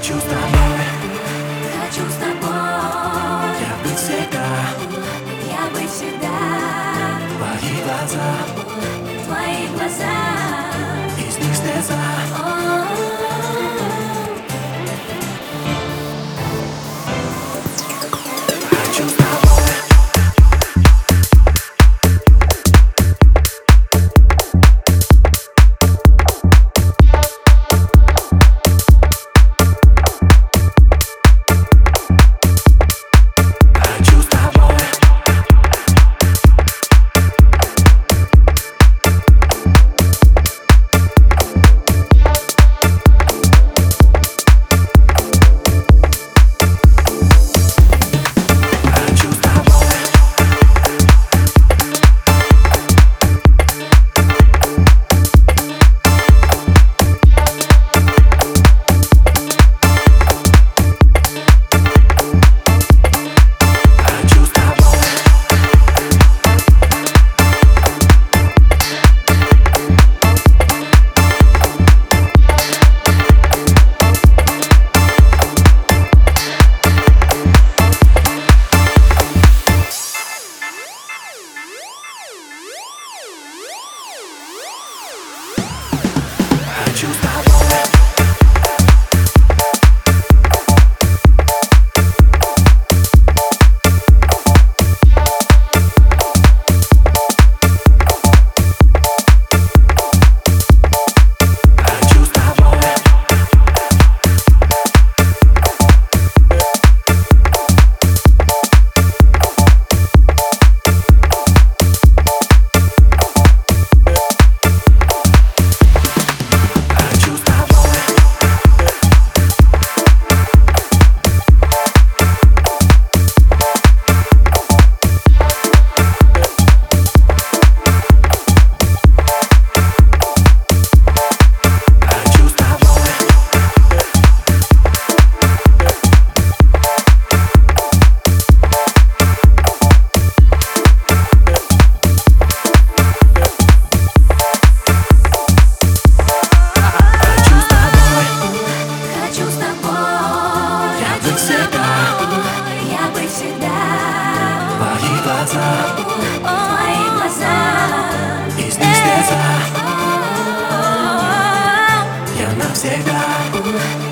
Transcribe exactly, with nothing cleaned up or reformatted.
Хочу с тобой, Хочу с тобой, я быть всегда. я быть всегда. Твои глаза, Твои глаза, из них слеза. о, Хочу с тобой. Хочу с тобой. Хочу с тобой. Хочу с тобой. Хочу с тобой. Хочу с тобой. Хочу с тобой. Хочу с тобой. Хочу с тобой. хочу с тобой, Я быть всегда. я быть всегда. Твои глаза, Твои глаза, из них слеза. о, Я навсегда.